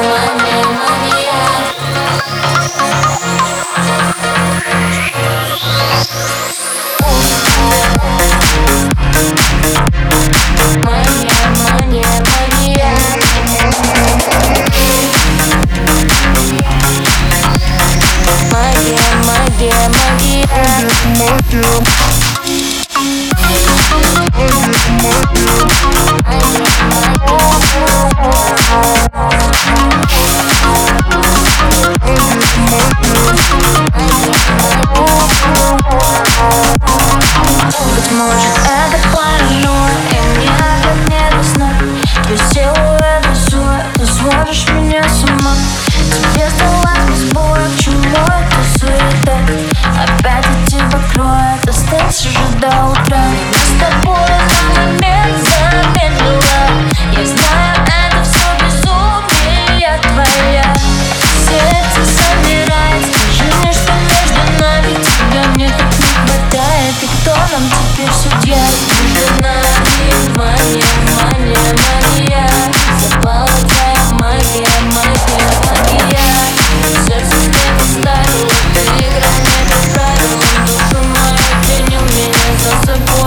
Быть может, это паранойя, и мне опять не до сна. Твою силу это зло, ты сводишь меня с ума. Тебе сдалась без боя, к чему это суета? Опять от тебя кроет, остался же до утра. Я с тобой на момент замедлила. Я знаю, это все безумие твоя. Сердце замирает, скажи мне, что между нами. Тебя мне так не хватает, и кто нам теперь судья? Между нами мания, мания, мания. Запала твоя магия, магия, магия. Сердце мне поставило, ты игра мне по правилам. Душу мою принял меня за собой.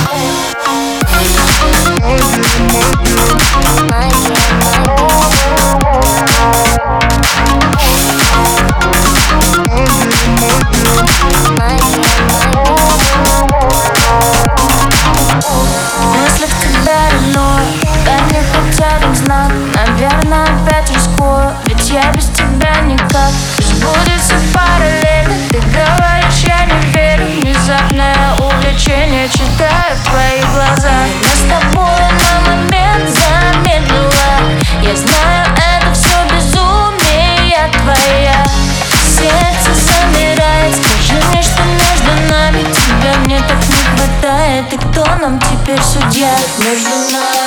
Мысли в тебя ревную, дай мне хоть один знак. Наверное, опять рискую, ведь я без тебя никак. Пусть будет все параллельно, ты говоришь, я не верю. Внезапное увлечение, читаю твои глаза. Я с тобой на момент замедлила. Я знаю, это все безумие твоя. Сердце замирает, скажи мне, что между нами. Тебя мне так не хватает, и кто нам теперь судья? Между нами